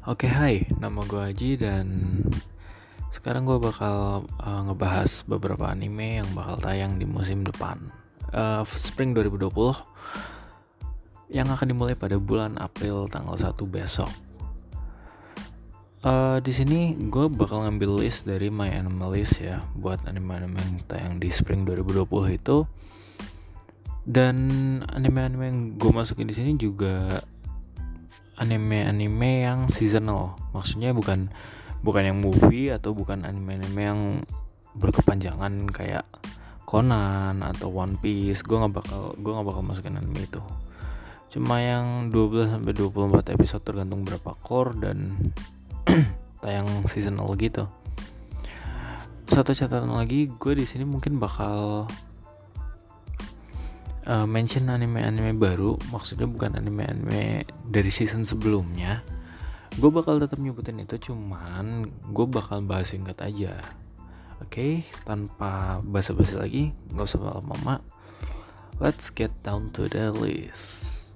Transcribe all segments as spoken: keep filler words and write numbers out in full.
Oke, hai, nama gue Aji dan sekarang gue bakal uh, ngebahas beberapa anime yang bakal tayang di musim depan, uh, Spring dua ribu dua puluh, yang akan dimulai pada bulan April tanggal satu besok. Uh, di sini gue bakal ngambil list dari My Anime List ya, buat anime-anime yang tayang di Spring dua ribu dua puluh itu. Dan anime-anime yang gue masukin di sini juga anime-anime yang seasonal, maksudnya bukan bukan yang movie atau bukan anime-anime yang berkepanjangan kayak Conan atau One Piece. Gue nggak bakal gue nggak bakal masukin anime itu. Cuma yang dua belas sampai dua puluh empat episode tergantung berapa core dan tayang seasonal gitu. Satu catatan lagi, gue di sini mungkin bakal Uh, mention anime-anime baru, maksudnya bukan anime-anime dari season sebelumnya. Gue bakal tetap nyebutin itu, cuman gue bakal bahas singkat aja. Oke, okay? Tanpa basa-basi lagi, gak usah lama-lama. Let's get down to the list.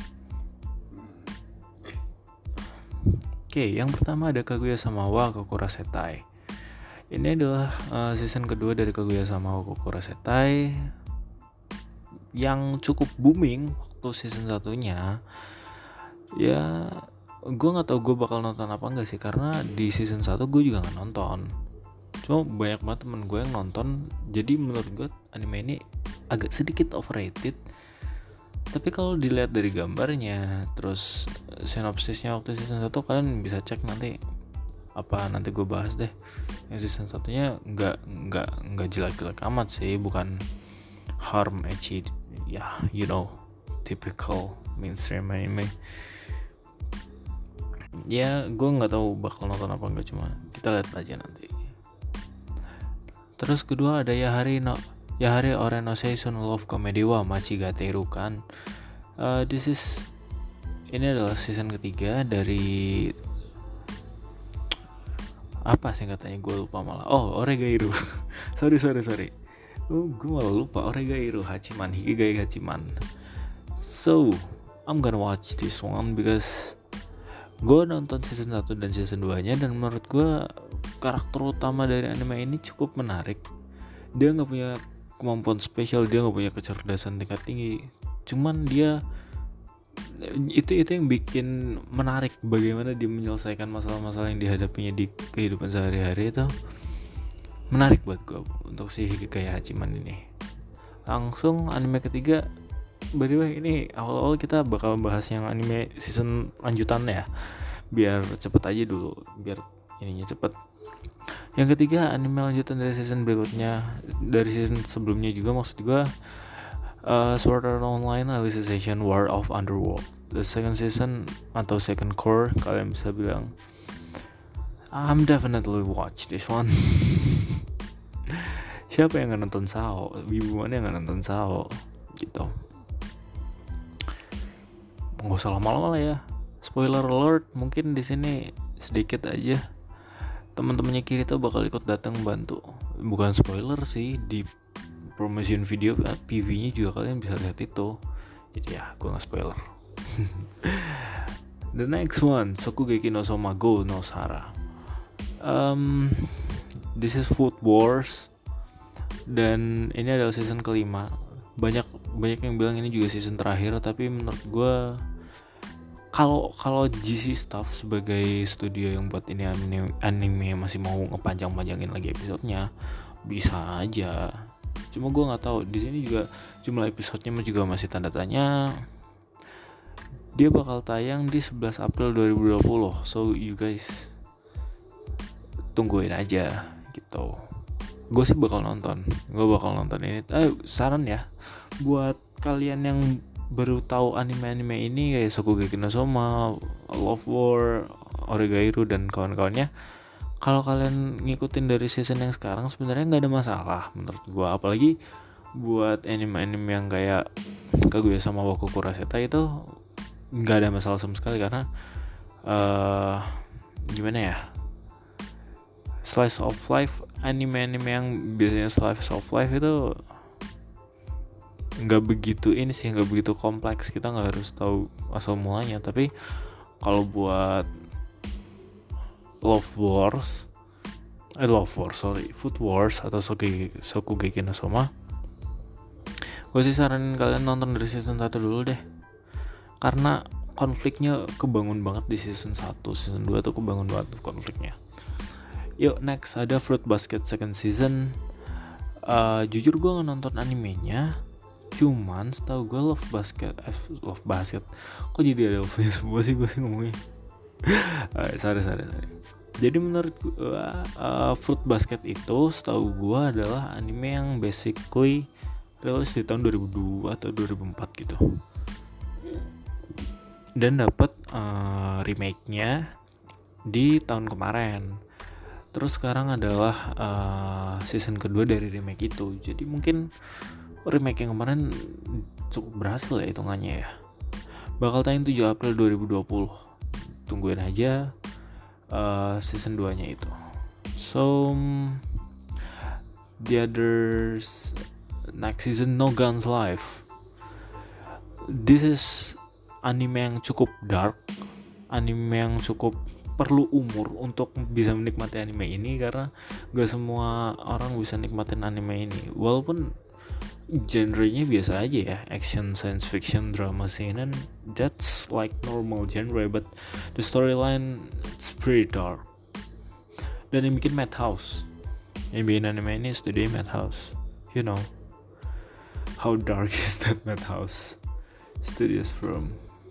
Oke, okay, yang pertama ada Kaguya-sama wa Kokurasetai. Ini adalah uh, season kedua dari Kaguya-sama wa Kokurasetai yang cukup booming waktu season satunya. Ya, gue nggak tahu gue bakal nonton apa enggak sih, karena di season satu gue juga nggak nonton. Cuma banyak banget temen gue yang nonton. Jadi menurut gue anime ini agak sedikit overrated. Tapi kalau dilihat dari gambarnya, terus sinopsisnya waktu season satu, kalian bisa cek nanti. Apa nanti gue bahas deh. Yang season satunya nggak nggak nggak jelek-jelek amat sih, bukan harm ecchi ya, yeah, you know, typical mainstream anime. Ya, gue nggak tahu bakal nonton apa enggak, cuma kita lihat aja nanti. Terus kedua ada Yahari no Yahari Ore no Seishun Love Comedy wa Machigateru kan. Uh, this is ini adalah season ketiga dari apa sih katanya, gue lupa malah. Oh, Oregairu. sorry sorry sorry. Oh, gue malah lupa. Oregairu Hachiman Hikigai Hachiman. So, I'm gonna watch this one because gue nonton season satu dan season dua nya, dan menurut gue karakter utama dari anime ini cukup menarik. Dia gak punya kemampuan spesial, dia gak punya kecerdasan tingkat tinggi, cuman dia itu itu yang bikin menarik, bagaimana dia menyelesaikan masalah-masalah yang dihadapinya di kehidupan sehari-hari. Itu menarik buat gue untuk si Hikigai Hachiman ini. Langsung anime ketiga. By the way, ini awal-awal kita bakal bahas yang anime season lanjutannya ya, biar cepet aja dulu, biar ininya cepet. Yang ketiga anime lanjutan dari season berikutnya, dari season sebelumnya juga, maksud gue uh, Sword Art Online Alicization War of Underworld, the second season atau second core kalian bisa bilang. I'm definitely watch this one. Siapa yang gak nonton Sao? Wibu mana yang gak nonton Sao? Gitu. Gak usah lama-lama lah ya. Spoiler alert, mungkin di sini sedikit aja. Teman-temannya Kirito bakal ikut datang bantu. Bukan spoiler sih, di promotion video P V-nya juga kalian bisa lihat itu. Jadi ya, gue gak spoiler. The next one, Shokugeki no Soma Go no Sara. Um, this is Food Wars, dan ini adalah season kelima. Banyak banyak yang bilang ini juga season terakhir, tapi menurut gue kalau kalau G C Staff sebagai studio yang buat ini anime, anime masih mau ngepanjang-panjangin lagi episodenya, bisa aja. Cuma gue nggak tahu, di sini juga jumlah episodenya juga masih tanda tanya. Dia bakal tayang di sebelas April dua ribu dua puluh, so you guys tungguin aja gitu. Gue sih bakal nonton, gue bakal nonton ini. Eh, saran ya buat kalian yang baru tahu anime-anime ini kayak Shokugeki no Soma, Love War, Oregairu dan kawan-kawannya. Kalau kalian ngikutin dari season yang sekarang sebenarnya nggak ada masalah menurut gue. Apalagi buat anime-anime yang kayak Kaguya-sama wa Kokurasetai itu nggak ada masalah sama sekali, karena uh, gimana ya, slice of life, anime-anime yang biasanya slice of life itu nggak begitu ini sih, nggak begitu kompleks. Kita nggak harus tahu asal mulanya. Tapi kalau buat Love Wars eh Love Wars sorry Food Wars atau Shokugeki, Shokugeki no Soma, gue sih saranin kalian nonton dari season satu dulu deh, karena konfliknya kebangun banget di season satu. Season dua tuh kebangun banget konfliknya. Yuk next ada Fruit Basket second season. uh, Jujur gue gak nonton animenya, cuman setahu gue Love Basket eh, Love Basket kok jadi ada love semua sih gue sih ngomongnya. uh, sorry sorry sorry Jadi menurut gue uh, Fruit Basket itu setahu gue adalah anime yang basically rilis di tahun dua ribu dua atau dua ribu empat gitu, dan dapat uh, remake-nya di tahun kemarin. Terus sekarang adalah uh, season kedua dari remake itu. Jadi mungkin remake yang kemarin cukup berhasil ya hitungannya ya. Bakal tayang tujuh April dua ribu dua puluh. Tungguin aja uh, season dua-nya itu. So the others next season No Guns Life. This is anime yang cukup dark, anime yang cukup perlu umur untuk bisa menikmati anime ini, karena gak semua orang bisa nikmatin anime ini. Walaupun genrenya biasa aja ya, action, science fiction, drama, seinen, that's like normal genre, but the storyline it's pretty dark. Dan yang bikin Madhouse, yang bikin anime ini studio Madhouse. You know how dark is that Madhouse Studios from.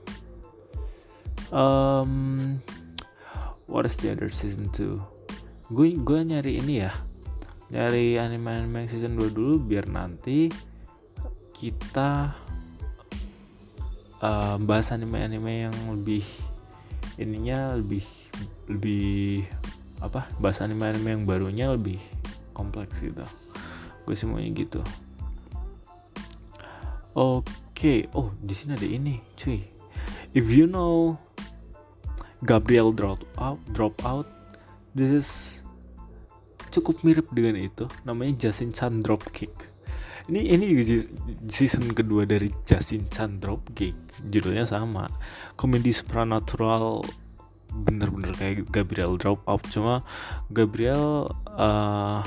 Um, what is the other season two? Gue gue nyari ini ya, nyari anime-anime season dua dulu biar nanti kita uh, bahas anime-anime yang lebih ininya lebih lebih apa? Bahas anime-anime yang barunya lebih kompleks gitu. Gue sih maunya gitu. Oke, okay. Oh di sini ada ini, cuy. If you know Gabriel drop out, drop out, this is cukup mirip dengan itu. Namanya Justin-chan Dropkick. Ini ini juga season kedua dari Justin-chan Dropkick. Judulnya sama, komedi supernatural, bener-bener kayak Gabriel drop out. Cuma Gabriel uh,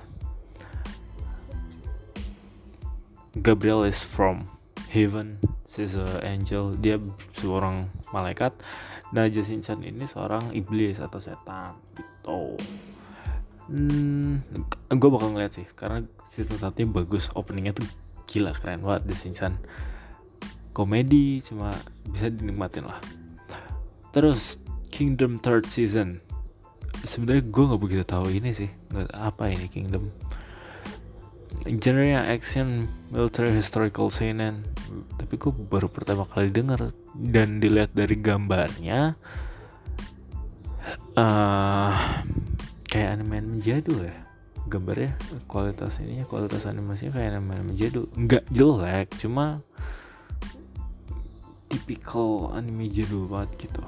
Gabriel is from heaven, she's an angel, dia seorang malaikat. Nah Justin-chan ini seorang iblis atau setan gitu. Hmm, gue bakal ngeliat sih, karena season satunya bagus, openingnya tuh gila keren banget. Justin-chan komedi, cuma bisa dinikmatin lah. Terus Kingdom third season, sebenarnya gue nggak begitu tahu ini sih, nggak apa ini Kingdom. Genre action, military, historical seinen, tapi gue baru pertama kali denger. Dan dilihat dari gambarnya uh, kayak anime-anime jadul ya. Gambarnya, kualitas ininya, kualitas animasinya kayak anime-anime jadul. Nggak jelek, cuma tipikal anime jadul banget gitu.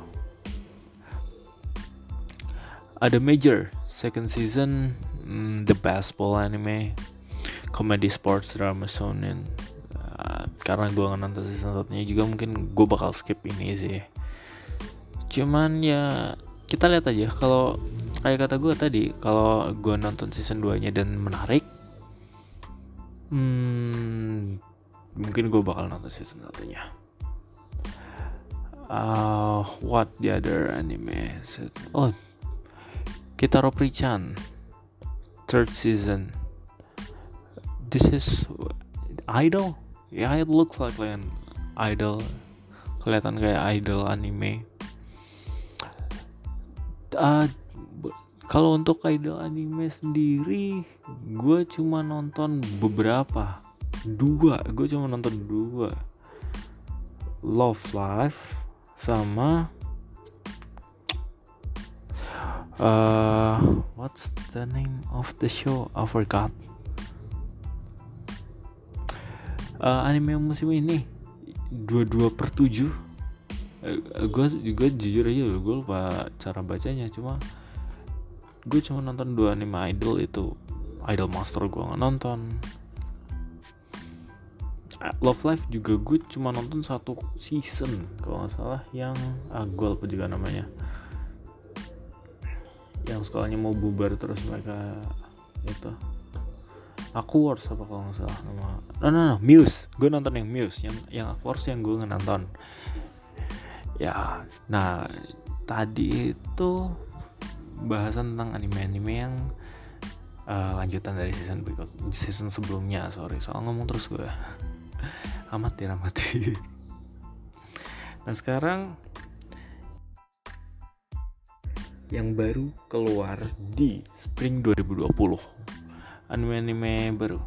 Ada Major second season, mm, the basketball anime, comedy, sports, drama, shonen. Uh, karena gue nggak nonton season satunya juga, mungkin gue bakal skip ini sih. Cuman ya kita lihat aja. Kalau kayak kata gue tadi, kalau gue nonton season dua-nya dan menarik, hmm, mungkin gue bakal nonton season satunya. Uh, what the other anime? Oh, Kitaro Pri-chan third season. This is idol. Ya, yeah, it looks like an idol. Kelihatan kayak idol anime. Uh, kalau untuk idol anime sendiri, gue cuma nonton beberapa, dua. Gue cuma nonton dua. Love Live sama uh, what's the name of the show? I forgot. Uh, anime musim ini dua puluh dua per tujuh. uh, Gue juga jujur aja gue lupa cara bacanya. Cuma gue cuma nonton dua anime idol itu. Idol Master gue gak nonton. uh, Love Live juga gue cuma nonton satu season kalau gak salah. Yang ah, gue lupa juga namanya. yang sekolahnya mau bubar terus mereka itu Aquarius apa kalau nggak salah nama. No no no Muse, gue nonton yang Muse, yang yang Aquarius yang gue nggak nonton. Ya, nah tadi itu bahasan tentang anime-anime yang uh, lanjutan dari season berikut, season sebelumnya. Sorry, soal ngomong terus gue. Amatir amatir. Nah sekarang yang baru keluar di Spring dua ribu dua puluh, anime-anime baru.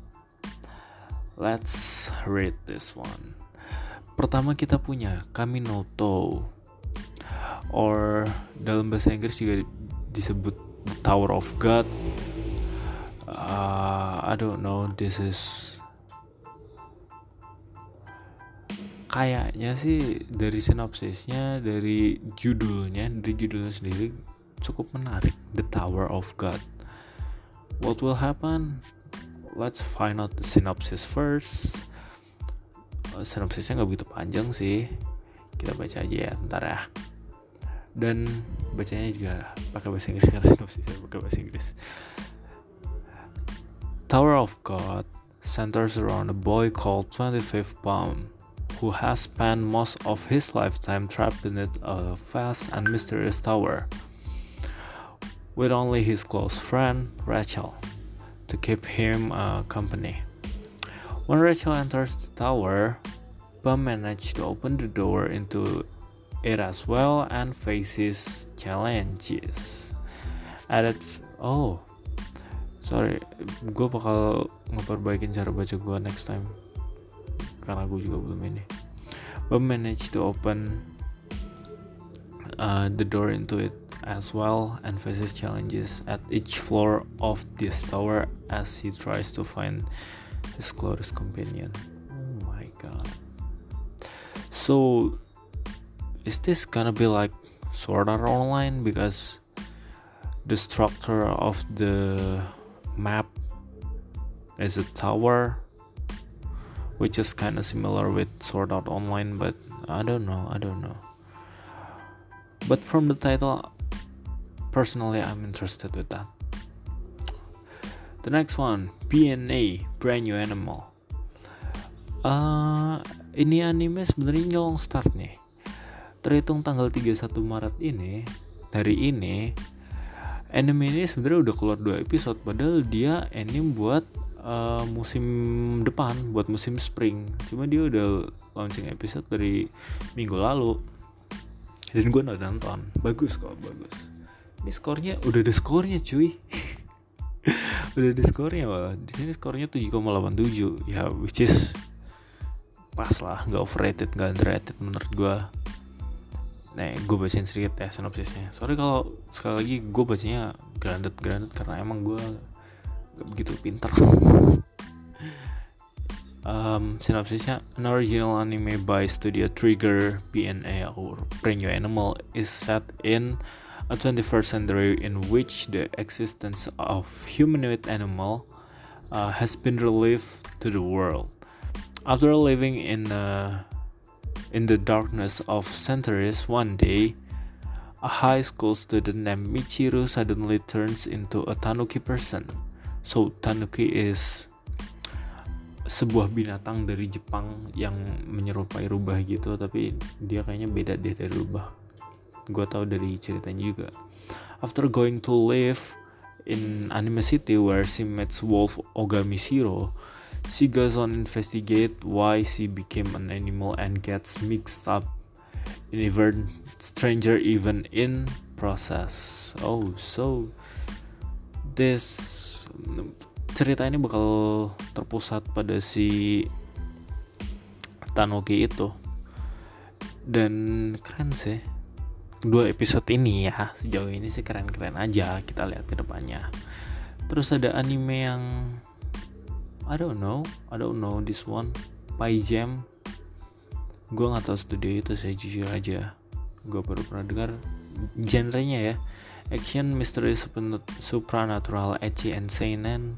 Let's read this one. Pertama kita punya Kami no To, or dalam bahasa Inggris juga disebut The Tower of God. uh, I don't know, this is kayaknya sih dari sinopsisnya, dari judulnya, dari judulnya sendiri cukup menarik. The Tower of God. What will happen? Let's find out the synopsis first. Uh, sinopsisnya nggak begitu panjang sih, kita baca aja ya, ntar ya. Dan bacanya juga pakai bahasa Inggris karena sinopsisnya pakai bahasa Inggris. Tower of God centers around a boy called twenty-fifth Palm, who has spent most of his lifetime trapped beneath a vast and mysterious tower, with only his close friend Rachel to keep him uh, company. When Rachel enters the tower, Bum manages to open the door into it as well and faces challenges. Added, f- oh, sorry, gue bakal ngeperbaikin cara baca gue next time, karena gue juga belum ini. Bum managed to open uh, the door into it as well and faces challenges at each floor of this tower as he tries to find his closest companion. Oh my god. So, is this gonna be like Sword Art Online? Because the structure of the map is a tower, which is kind of similar with Sword Art Online, but I don't know, I don't know. But from the title, personally, I'm interested with that. The next one, B N A, Brand New Animal. Uh, ini anime sebenarnya nyolong start nih. Terhitung tanggal tiga puluh satu Maret ini, dari ini, anime ini sebenarnya udah keluar dua episode, padahal dia anime buat uh, musim depan, buat musim spring. Cuma dia udah launching episode dari minggu lalu, dan gue udah nonton. Bagus kok, bagus. Ini skornya udah ada skornya cuy. Udah ada skornya malah. Di sini skornya tujuh koma delapan tujuh. Ya, which is pas lah, nggak overrated, nggak underrated menurut gue. Nih, gue bacain sedikit ya sinopsisnya. Sorry kalau sekali lagi gue bacanya grounded-grounded karena emang gue gak begitu pinter. um, Sinopsisnya, an original anime by Studio Trigger, B N A or Brand New Animal, is set in a twenty-first century in which the existence of humanoid animal uh, has been relieved to the world. After living in a In the darkness of centuries, one day, a high school student named Michiru suddenly turns into a tanuki person. So, tanuki is sebuah binatang dari Jepang yang menyerupai rubah gitu, tapi dia kayaknya beda deh dari rubah. Gue tahu dari ceritanya juga. After going to live in Anime City where she meets Wolf Ogami Shiro, she goes on investigate why she became an animal and gets mixed up in even stranger even in process. Oh, so this cerita ini bakal terpusat pada si Tanuki itu, dan keren sih. Dua episode ini ya, sejauh ini sih keren-keren aja. Kita lihat ke depannya. Terus ada anime yang I don't know, I don't know this one, Pie Jam. Gue nggak tahu studio itu, saya jujur aja. Gue baru pernah dengar. Genrenya ya, action, mystery, supernatural, ecchi, and seinen.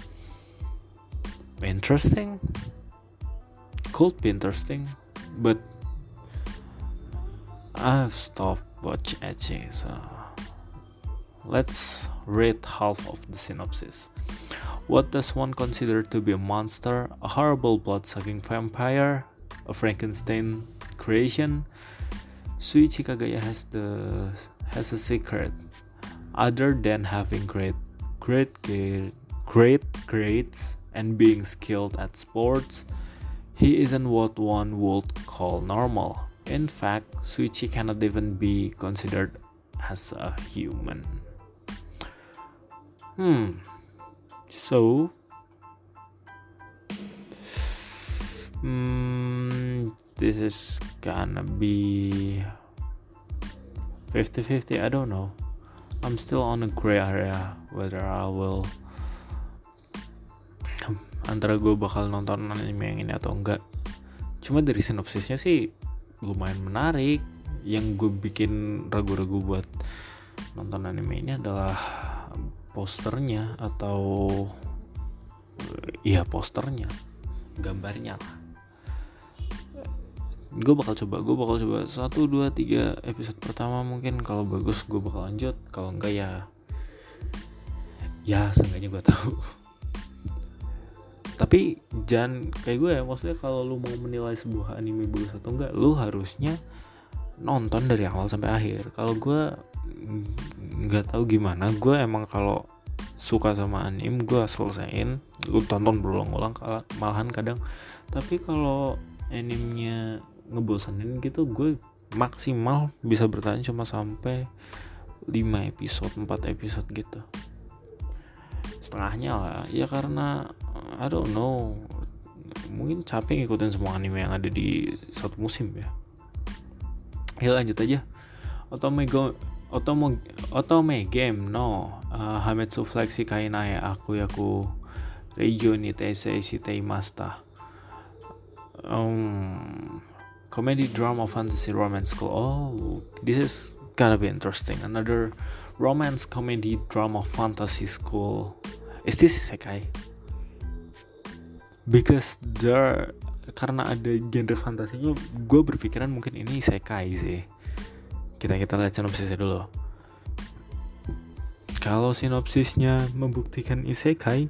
Interesting, could be interesting, but I've stopped watch ecchi, so Let's read half of the synopsis. What does one consider to be a monster, a horrible blood-sucking vampire, a Frankenstein creation? Shuichi Kagaya has the has a secret. Other than having great, great, great grades and being skilled at sports, he isn't what one would call normal. In fact, Shuichi cannot even be considered as a human. Hmm. So, hmm, this is gonna be fifty-fifty. I don't know. I'm still on a gray area whether I will antara gue bakal nonton anime yang ini atau enggak. Cuma dari sinopsisnya sih lumayan menarik. Yang gue bikin ragu-ragu buat nonton anime ini adalah posternya atau iya posternya, gambarnya lah. Gue bakal coba, gue bakal coba satu, dua, tiga episode pertama mungkin kalau bagus gue bakal lanjut, kalau enggak ya ya seenggaknya gue tahu. Tapi jangan kayak gue ya, maksudnya kalau lu mau menilai sebuah anime bagus atau enggak, lu harusnya nonton dari awal sampai akhir. Kalau gue nggak tahu gimana, gue emang kalau suka sama anime gue selesaiin, lu tonton berulang-ulang malahan kadang. Tapi kalau animenya ngebosenin gitu, gue maksimal bisa bertahan cuma sampai lima episode, empat episode gitu, setengahnya lah ya, karena I don't know, mungkin capek ngikutin semua anime yang ada di satu musim ya. Ya lanjut aja. Otome go Otome Otome game no uh, Hametsu Flexi Kainae Aku Yaku Reijo ni Teisei Shitei Masta. Um, comedy drama fantasy romance school. Oh, this is gonna be interesting. Another romance comedy drama fantasy school. Is this isekai? Because there, karena ada genre fantasinya, gue berpikiran mungkin ini isekai sih. Kita kita lihat sinopsisnya dulu. Kalau sinopsisnya membuktikan isekai,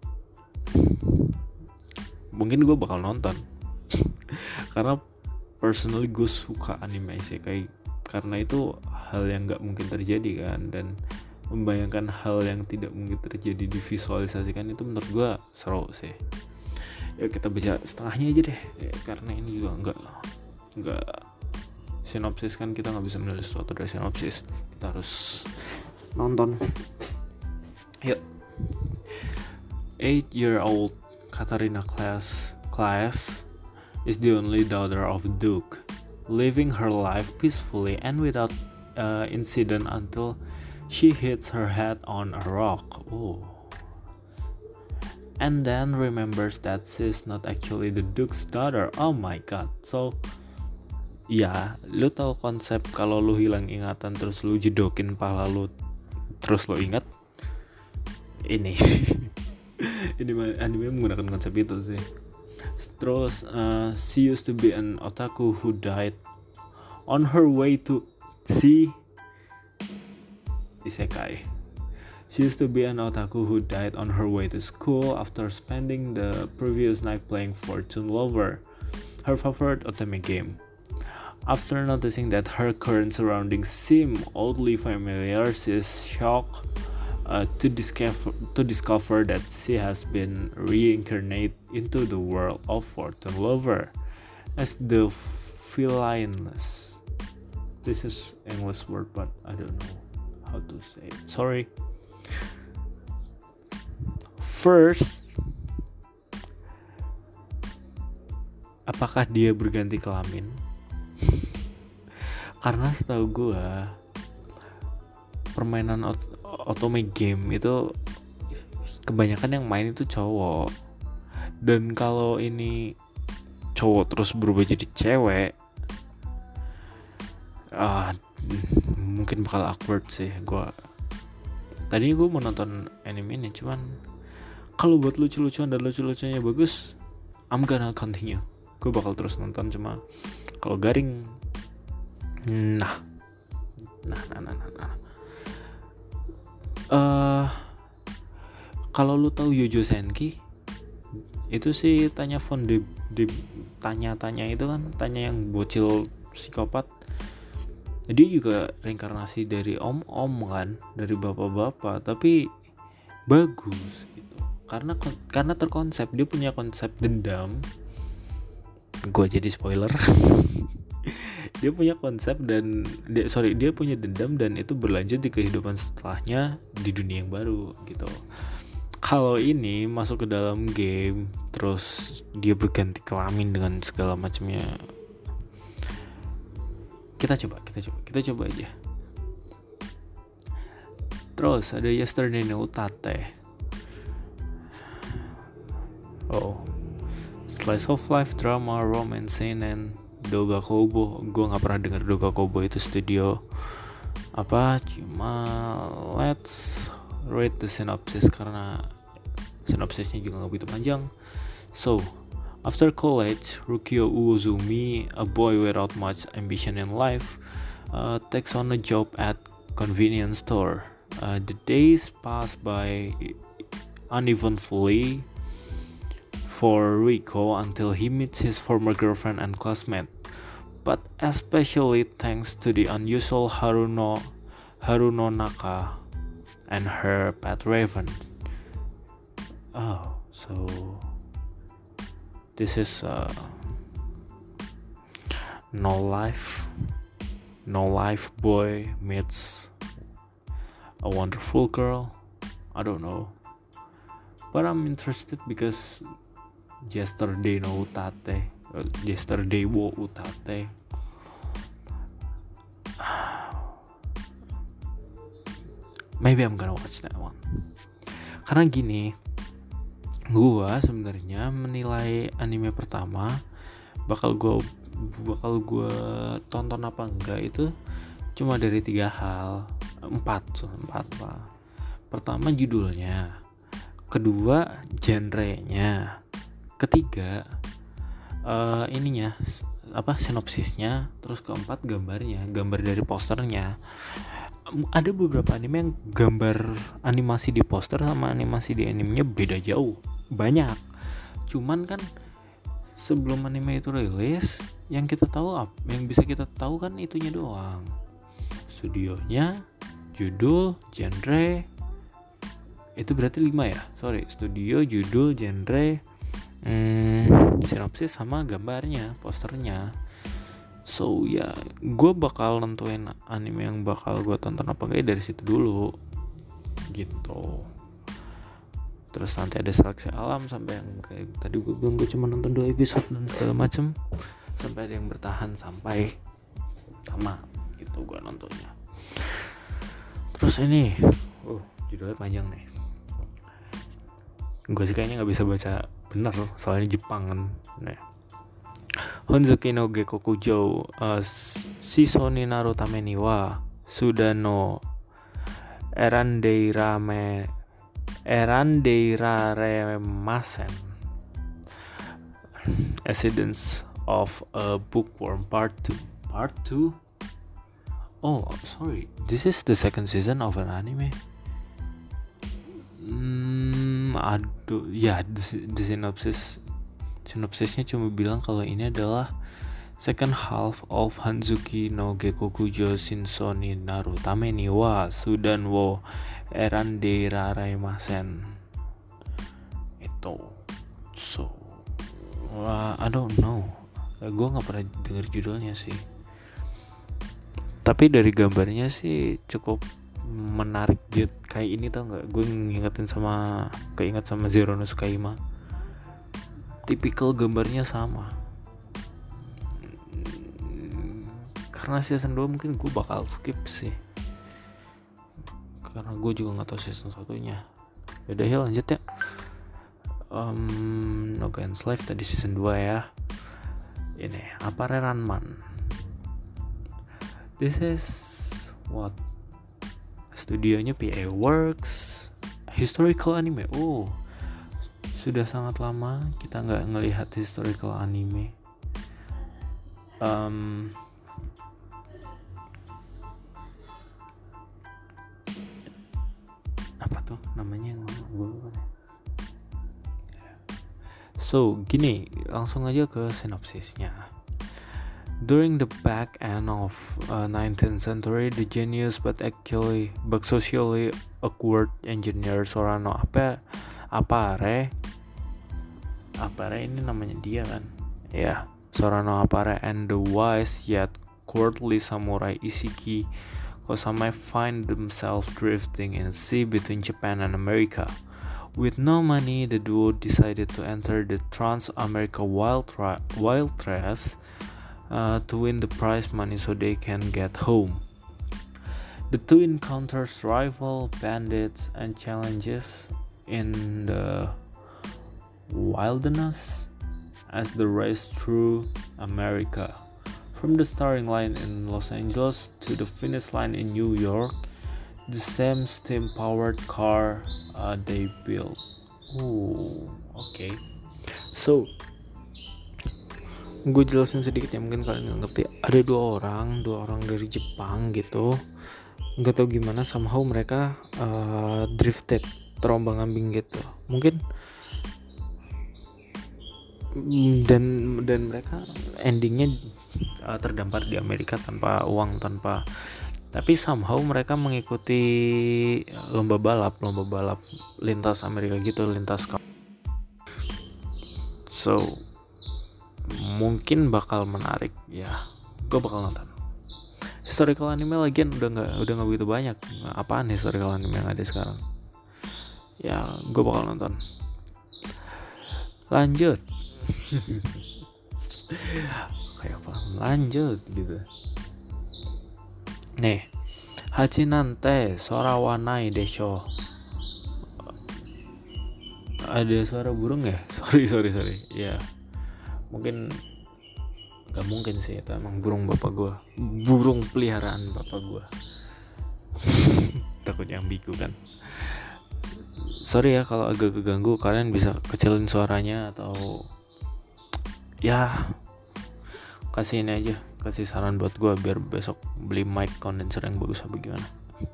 mungkin gue bakal nonton. Karena personally gue suka anime isekai, karena itu hal yang gak mungkin terjadi kan, dan membayangkan hal yang tidak mungkin terjadi divisualisasikan itu menurut gue seru sih. Ya kita baca setengahnya aja deh ya, karena ini juga nggak nggak sinopsis kan, kita nggak bisa menulis sesuatu dari sinopsis, kita harus nonton. Yuk. eight year old Katarina Class Class is the only daughter of a duke, living her life peacefully and without uh, incident until she hits her head on a rock. Oh. And then remembers that she's not actually the duke's daughter. Oh my god. So ya, lu tahu konsep kalau lu hilang ingatan terus lu jedokin pala lu terus lu ingat? Ini ini anime menggunakan konsep itu sih. Terus uh, she used to be an otaku who died on her way to see isekai. She used to be an otaku who died on her way to school after spending the previous night playing Fortune Lover, her favorite otome game. After noticing that her current surroundings seem oddly familiar, she is shocked uh, to discover to discover that she has been reincarnated into the world of Fortune Lover as the villainess. This is English word, but I don't know how to say it. Sorry. First, apakah dia berganti kelamin? Karena setahu gue permainan ot- otome game itu kebanyakan yang main itu cowok, dan kalau ini cowok terus berubah jadi cewek, ah mungkin bakal awkward sih. Gue tadinya gue mau nonton anime ini, cuman kalau buat lucu-lucuan dan lucu-lucunya bagus, I'm gonna continue. Gue bakal terus nonton. Cuma kalau garing, nah, nah, nah, nah, nah, nah. uh, kalau lu tahu Yojo Senki, itu sih tanya phone di, di tanya-tanya itu kan, tanya yang bocil psikopat. Dia juga reinkarnasi dari om-om kan, dari bapak-bapak, tapi bagus gitu. Karena karena terkonsep, dia punya konsep dendam. Gue jadi spoiler. Dia punya konsep dan dia, sorry dia punya dendam dan itu berlanjut di kehidupan setelahnya di dunia yang baru gitu. Kalau ini masuk ke dalam game, terus dia berganti kelamin dengan segala macamnya. Kita coba, kita coba, kita coba aja. Terus ada Yesterday no Utate. Oh, slice of life, drama, romance, and Doga Kobo. Gue nggak pernah dengar Doga Kobo itu studio apa, cuma let's read the synopsis karena sinopsisnya juga nggak begitu panjang. So, after college, Rukio Uozumi, a boy without much ambition in life, uh, takes on a job at convenience store. Uh, the days pass by uneventfully for Rico until he meets his former girlfriend and classmate. But especially thanks to the unusual Haruno Haruno Naka and her pet Raven. Oh, so this is uh, no life, no life boy meets a wonderful girl. I don't know, but I'm interested because yesterday no utate, uh, yesterday wo utate. Maybe I'm gonna watch that one. Karena gini, gua sebenarnya menilai anime pertama bakal gua bakal gua tonton apa enggak itu cuma dari tiga hal, empat, so, empat lah. Pertama judulnya, kedua genrenya, ketiga uh, ininya apa sinopsisnya, terus keempat gambarnya, gambar dari posternya. Ada beberapa anime yang gambar animasi di poster sama animasi di animenya beda jauh, banyak. Cuman kan sebelum anime itu rilis, yang kita tahu apa, yang bisa kita tahu kan itunya doang, studionya, judul, genre. Itu berarti lima ya, sorry, studio, judul, genre, hmm, sinopsis sama gambarnya, posternya. So ya, yeah, gue bakal nentuin anime yang bakal gue tonton apa enggak dari situ dulu, gitu. Terus nanti ada seleksi alam sampai yang kayak tadi gue bilang, gue cuma nonton dua episode dan segala macem, sampai ada yang bertahan sampai tamat, gitu gue nontonnya. Terus ini, oh judulnya panjang nih. Gue sih kayaknya nggak bisa baca bener, soalnya Jepang kan. Nah. Honzuki no Gekokujo uh, Shiso ni naru tame ni wa Suda no Erandeirame Erandeiraremasen. Accidents of a Bookworm Part two. Part two? Oh, sorry. This is the second season of an anime. Hmm, aduh, ya, the, the synopsis Sinopsisnya cuma bilang kalau ini adalah second half of Hanzuki no Gekokujo Shinso ni naru tame ni wa Sudan wo Erandeiraremasen. Itu. So, uh, I don't know. Gue nggak pernah denger judulnya sih. Tapi dari gambarnya sih cukup menarik gitu. Kayak ini tau nggak? Gue ngingetin sama, keinget sama Zero no Tsukaima. Tipikal gambarnya sama. Karena season dua mungkin gue bakal skip sih, karena gue juga gak tahu season satunya. Yaudah ya lanjut ya. um, No Guns Life tadi season dua ya. Ini Apare Ranman. This is what, studionya P A Works, historical anime. Oh, sudah sangat lama kita nggak ngelihat historical anime. Um, tuh namanya yang gue lupa deh. So gini, langsung aja ke sinopsisnya. During the back end of uh, nineteenth century, the genius but actually but socially awkward engineer Sorano Apare Apare Apare ini namanya dia kan, ya yeah. Sorano Apare and the wise yet courtly samurai Isiki Kosame find themselves drifting in a sea between Japan and America. With no money, the duo decided to enter the Trans-America Wild, Tra- Wild Trace uh, to win the prize money so they can get home. The two encounters rival bandits and challenges in the wilderness as they race through America. From the starting line in Los Angeles to the finish line in New York, the same steam-powered car uh, they built. Oh, oke. Okay. So, gue jelasin sedikit ya, mungkin kalian nggak ngerti. Ada dua orang, dua orang dari Jepang gitu. Nggak tahu gimana, somehow mereka uh, drifted, terombang-ambing gitu. Mungkin dan dan mereka endingnya uh, terdampar di Amerika tanpa uang, tanpa. Tapi somehow mereka mengikuti lomba balap, lomba balap lintas Amerika gitu, lintas kap. So, mungkin bakal menarik ya. Gue bakal nonton. Historical anime lagian udah nggak udah nggak begitu banyak. Apaan historical anime yang ada sekarang? Ya, gue bakal nonton. Lanjut. Kayak apa? Lanjut gitu. Nih, Hachinante Sorawanai Desho. Ada suara burung ya? Sorry sorry sorry. Ya, mungkin gak mungkin sih, itu emang burung bapak gue, burung peliharaan bapak gue. Takut yang biku kan. Sorry ya kalau agak keganggu, kalian bisa kecilin suaranya atau ya kasih ini aja, kasih saran buat gue biar besok beli mic condenser yang bagus apa gimana.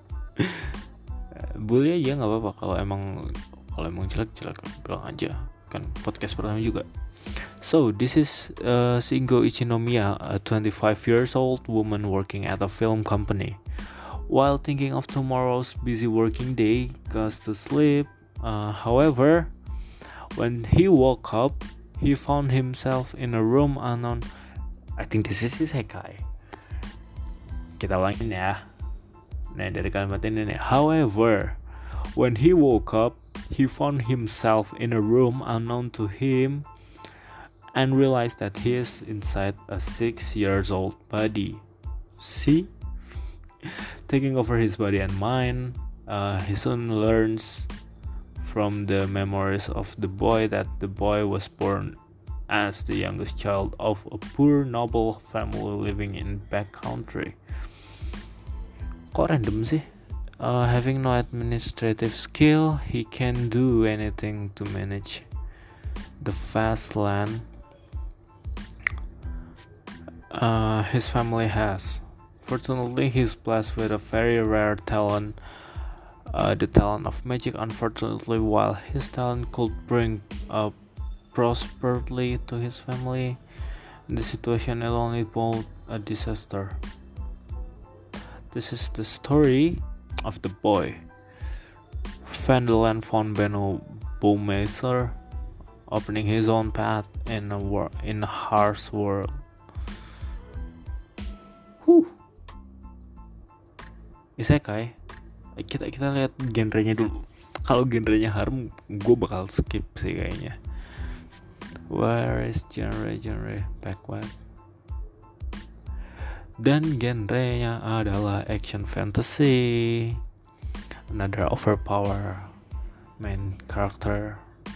Boleh aja, nggak apa-apa. Kalau emang kalau emang jelek jelek bilang aja, kan podcast pertama juga. So this is uh, Shingo Ichinomiya, a twenty-five years old woman working at a film company. While thinking of tomorrow's busy working day, goes to sleep. Uh, however, when he woke up, he found himself in a room unknown. I think this is isekai. Kita ulangin ya. Nah, dari kalimat ini nih. However, when he woke up, he found himself in a room unknown to him and realized that he is inside a six years old body. See? Taking over his body and mind, uh, he soon learns from the memories of the boy that the boy was born as the youngest child of a poor noble family living in backcountry. Kok random sih? Uh, having no administrative skill, he can do anything to manage the vast land uh, his family has. Fortunately, he's blessed with a very rare talent, uh, the talent of magic. Unfortunately, while his talent could bring up prosperity to his family, the situation alone is both a disaster. This is the story of the boy. Vanderland von Benno Baumeister, opening his own path in a wor- in a harsh world. Huh. Isekai. Kita kita lihat genrenya dulu. Kalau genrenya harem, gue bakal skip sih kayaknya. Where is genre genre backward? Dan genrenya adalah action fantasy. Another overpower main character.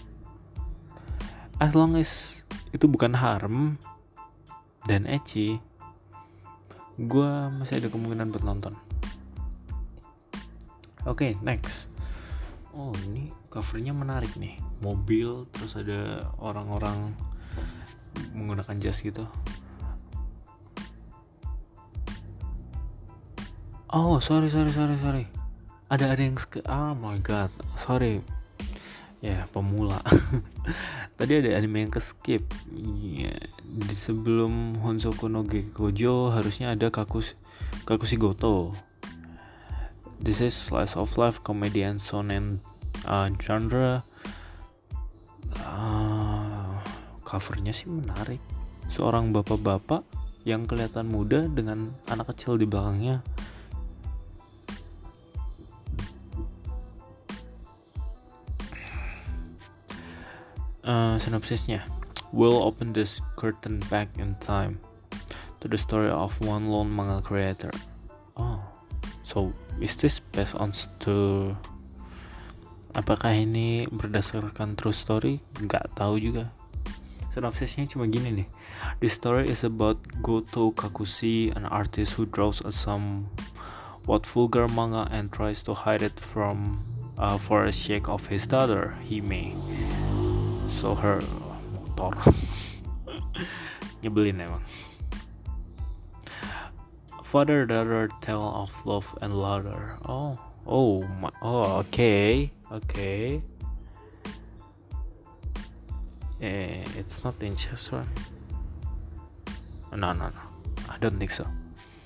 As long as itu bukan harem dan ecchi, gue masih ada kemungkinan buat nonton. Oke, okay, next. Oh, ini covernya menarik nih. Mobil, terus ada orang-orang menggunakan jas gitu. Oh, sorry, sorry, sorry, sorry. ada ada yang sk- oh my god, sorry ya, pemula. Tadi ada anime yang ke skip. Iya, di sebelum Honsoku no Gekkojo harusnya ada Kakus Kakushigoto. This is slice of life comedy and shonen uh, genre. Uh, covernya sih menarik. Seorang bapak-bapak yang kelihatan muda dengan anak kecil di belakangnya. Uh, sinopsisnya, we'll open this curtain back in time to the story of one lone manga creator. Oh, so is this based on to? Apakah ini berdasarkan true story? Nggak tahu juga. Sinopsisnya cuma gini nih. The story is about Goto Kakushi, an artist who draws a somewhat vulgar manga and tries to hide it from uh, for a shake of his daughter Hime. So her motor nyebelin emang. Father daughter tale of love and laughter. Oh, oh, my, oh, okay, okay. Eh, it's not incest, right? No, no, no. I don't think so.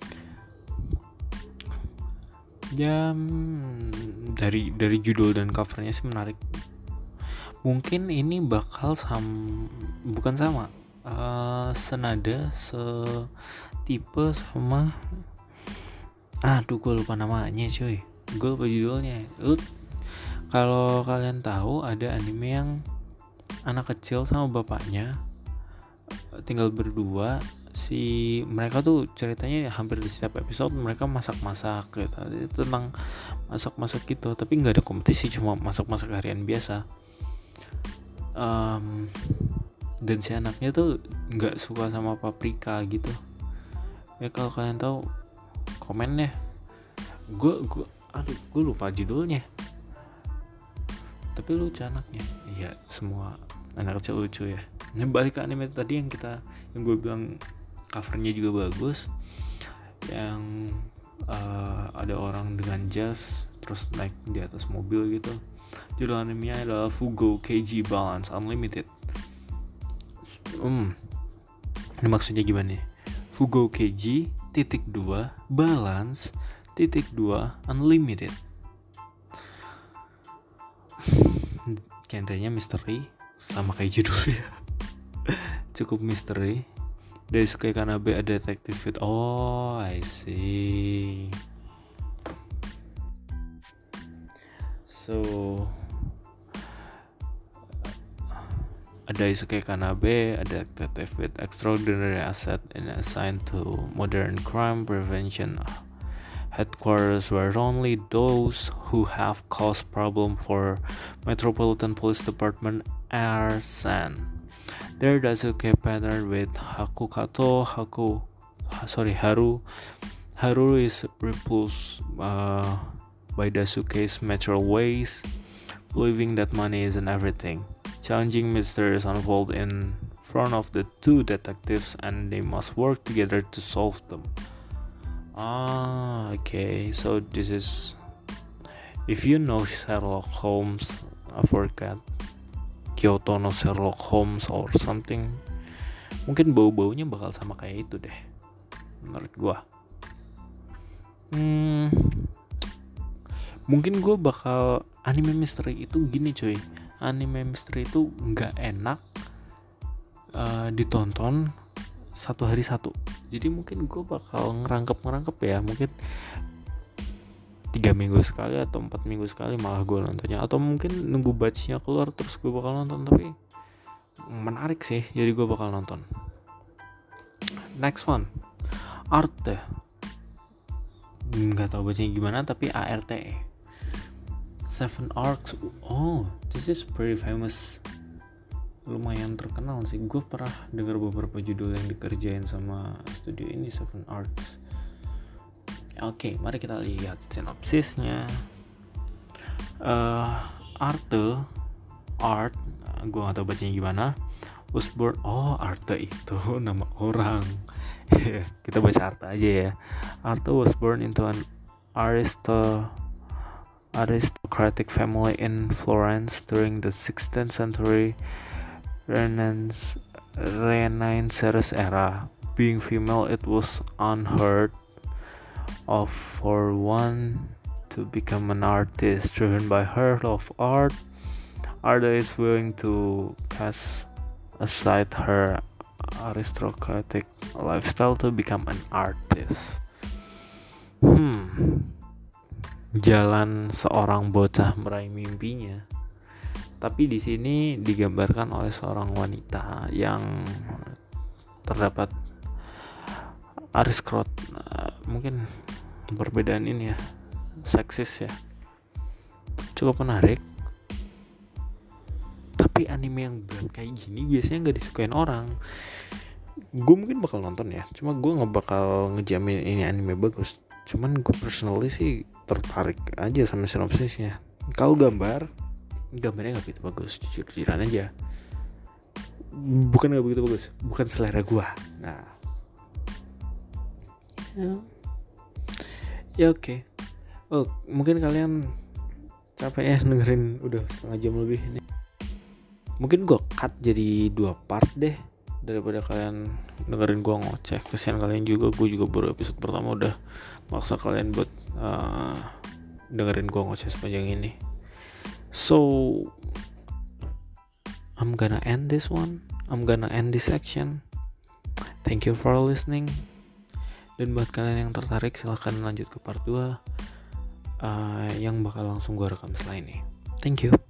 Ya, hmm, dari dari judul dan covernya sih menarik. Mungkin ini bakal sam bukan sama uh, senada setipe sama aduh gue lupa namanya cuy, gue lupa judulnya. Lu kalau kalian tahu ada anime yang anak kecil sama bapaknya tinggal berdua, si mereka tuh ceritanya hampir di setiap episode mereka masak-masak gitu, itu tentang masak-masak gitu, tapi nggak ada kompetisi, cuma masak-masak harian biasa. Um, dan si anaknya tuh nggak suka sama paprika gitu ya. Kalau kalian tahu komen deh. Gue gue aduh gue lupa judulnya, tapi lucu anaknya. Iya, semua anak kecil lucu ya. Nah, balik ke anime tadi yang kita yang gue bilang covernya juga bagus, yang uh, ada orang dengan jas terus naik di atas mobil gitu. Judul animenya adalah Fugo Keiji Balance Unlimited. Hmm, ini maksudnya gimana nih? Fugo Keiji titik dua Balance titik dua Unlimited. Genrenya misteri sama kayak judulnya. Cukup misteri. Dari Daisuke Kanabe ada detective fit. Oh, I see. So ada Daisuke Kanabe, a detective with extraordinary asset and assigned to modern crime prevention headquarters where only those who have caused problem for Metropolitan Police Department are sent. There Daisuke partnered with Hakukato Haku sorry Haru Haru is repulsed uh, by Daisuke's material ways, believing that money isn't everything. Challenging mysteries unfold in front of the two detectives and they must work together to solve them. Ah, okay. So this is, if you know Sherlock Holmes, I forgot Kyoto no Sherlock Holmes or something, mungkin bau-baunya bakal sama kayak itu deh, menurut gua. Hmm, mungkin gue bakal anime misteri itu gini cuy. Anime misteri itu nggak enak uh, ditonton satu hari satu. Jadi mungkin gue bakal ngerangkep ngerangkep ya. Mungkin tiga minggu sekali atau empat minggu sekali malah gue nontonnya. Atau mungkin nunggu batchnya keluar terus gue bakal nonton. Tapi menarik sih, jadi gue bakal nonton. Next one, Arte. Nggak tahu bacanya gimana, tapi A R T E. Seven Arcs. Oh, this is pretty famous. Lumayan terkenal sih. Gue pernah dengar beberapa judul yang dikerjain sama studio ini, Seven Arcs. Oke, okay, mari kita lihat sinopsisnya. Uh, Arte, Art, gue nggak tahu bacanya gimana. Was born. Oh, Arte itu nama orang. Kita baca Arte aja ya. Arte was born into an aristo aristocratic family in Florence during the sixteenth century Renaissance Renaissance era. Being female, it was unheard of for one to become an artist. Driven by her love of art, Arda is willing to cast aside her aristocratic lifestyle to become an artist. Hmm, jalan seorang bocah meraih mimpinya. Tapi di sini digambarkan oleh seorang wanita yang terdapat aristokrat, mungkin perbedaan ini ya, seksis ya, cukup menarik. Tapi anime yang berat kayak gini biasanya nggak disukain orang. Gue mungkin bakal nonton ya, cuma gue nggak bakal ngejamin ini anime bagus. Cuman gue personally sih tertarik aja sama sinopsisnya. Kalau gambar, gambarnya nggak begitu bagus, jujur-jujuran aja. Bukan nggak begitu bagus, bukan selera gue. Nah, ya, ya oke. Okay. Oh, mungkin kalian capek ya dengerin udah setengah jam lebih ini. Mungkin gue cut jadi dua part deh, daripada kalian dengerin gue ngoceh. Kesian kalian juga, gue juga baru episode pertama udah maksa kalian buat uh, dengerin gue ngoceh sepanjang ini. So I'm gonna end this one, I'm gonna end this section. Thank you for listening. Dan buat kalian yang tertarik, silahkan lanjut ke part dua uh, yang bakal langsung gue rekam setelah ini. Thank you.